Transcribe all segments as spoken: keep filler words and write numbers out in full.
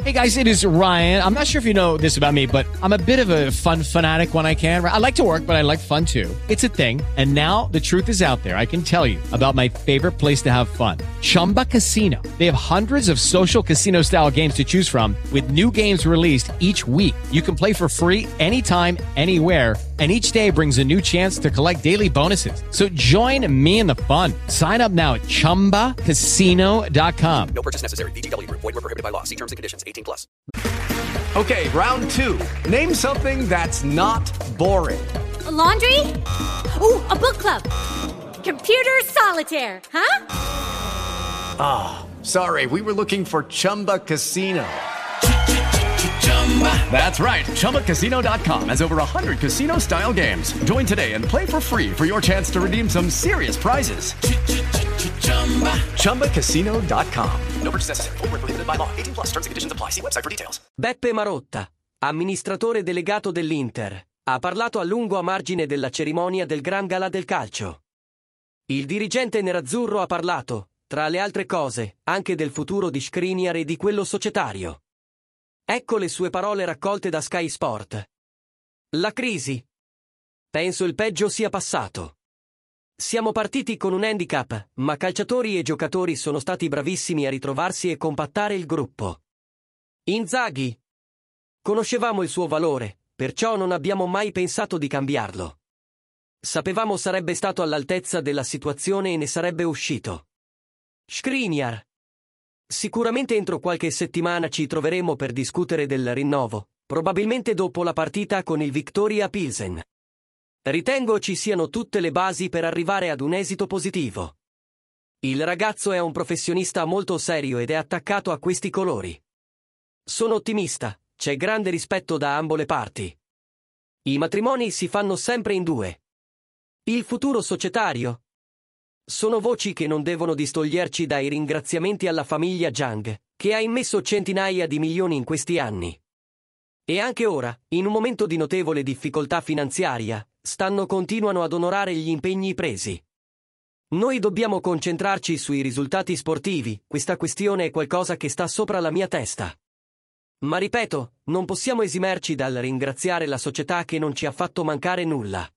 Hey guys, it is Ryan. I'm not sure if you know this about me, but I'm a bit of a fun fanatic when I can. I like to work, but I like fun too. It's a thing. And now the truth is out there. I can tell you about my favorite place to have fun. Chumba Casino. They have hundreds of social casino style games to choose from with new games released each week. You can play for free anytime, anywhere. And each day brings a new chance to collect daily bonuses. So join me in the fun. Sign up now at chumba casino dot com. No purchase necessary. V G W. Void were prohibited by law. See terms and conditions. eighteen plus. Okay, round two. Name something that's not boring. A laundry? Ooh, a book club. Computer solitaire, huh? Ah, oh, sorry. We were looking for Chumba Casino. That's right. Chumba Casino dot com has over one hundred casino-style games. Join today and play for free for your chance to redeem some serious prizes. Chumba Casino dot com. No purchase necessary. Void were prohibited by law. eighteen plus. Terms and conditions apply. See website for details. Beppe Marotta, amministratore delegato dell'Inter, ha parlato a lungo a margine della cerimonia del Gran Galà del calcio. Il dirigente nerazzurro ha parlato, tra le altre cose, anche del futuro di Skriniar e di quello societario. Ecco le sue parole raccolte da Sky Sport. La crisi. Penso il peggio sia passato. Siamo partiti con un handicap, ma calciatori e giocatori sono stati bravissimi a ritrovarsi e compattare il gruppo. Inzaghi. Conoscevamo il suo valore, perciò non abbiamo mai pensato di cambiarlo. Sapevamo sarebbe stato all'altezza della situazione e ne sarebbe uscito. Skriniar. Sicuramente entro qualche settimana ci troveremo per discutere del rinnovo, probabilmente dopo la partita con il Viktoria Pilsen. Ritengo ci siano tutte le basi per arrivare ad un esito positivo. Il ragazzo è un professionista molto serio ed è attaccato a questi colori. Sono ottimista, c'è grande rispetto da ambo le parti. I matrimoni si fanno sempre in due. Il futuro societario? Sono voci che non devono distoglierci dai ringraziamenti alla famiglia Jang, che ha immesso centinaia di milioni in questi anni. E anche ora, in un momento di notevole difficoltà finanziaria, stanno continuano ad onorare gli impegni presi. Noi dobbiamo concentrarci sui risultati sportivi, questa questione è qualcosa che sta sopra la mia testa. Ma ripeto, non possiamo esimerci dal ringraziare la società che non ci ha fatto mancare nulla.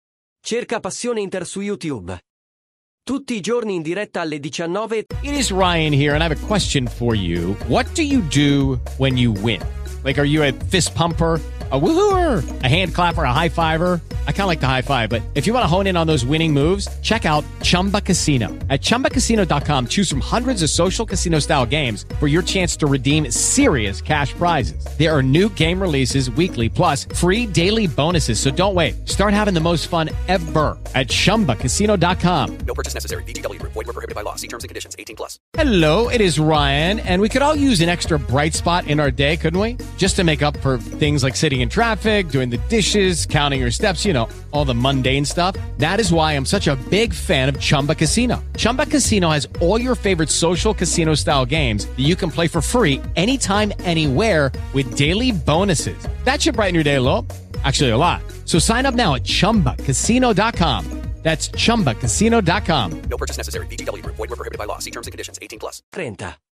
Cerca Passione Inter su YouTube. Tutti i giorni in diretta alle diciannove. It is Ryan here, and I have a question for you. What do you do when you win? Like, are you a fist pumper, a woohooer, a hand clapper, a high fiver? I kind of like the high five, but if you want to hone in on those winning moves, check out Chumba Casino. At chumba casino dot com, choose from hundreds of social casino-style games for your chance to redeem serious cash prizes. There are new game releases weekly, plus free daily bonuses, so don't wait. Start having the most fun ever at chumba casino dot com. No purchase necessary. V G W. Void were prohibited by law. See terms and conditions. eighteen plus. Hello, it is Ryan, and we could all use an extra bright spot in our day, couldn't we? Just to make up for things like sitting in traffic, doing the dishes, counting your steps, you know, all the mundane stuff. That is why I'm such a big fan of Chumba Casino. Chumba Casino has all your favorite social casino-style games that you can play for free anytime, anywhere with daily bonuses. That should brighten your day a little. Actually, a lot. So sign up now at chumba casino dot com. That's chumba casino dot com. No purchase necessary. V G W. Void were prohibited by law. See terms and conditions. eighteen plus. trenta.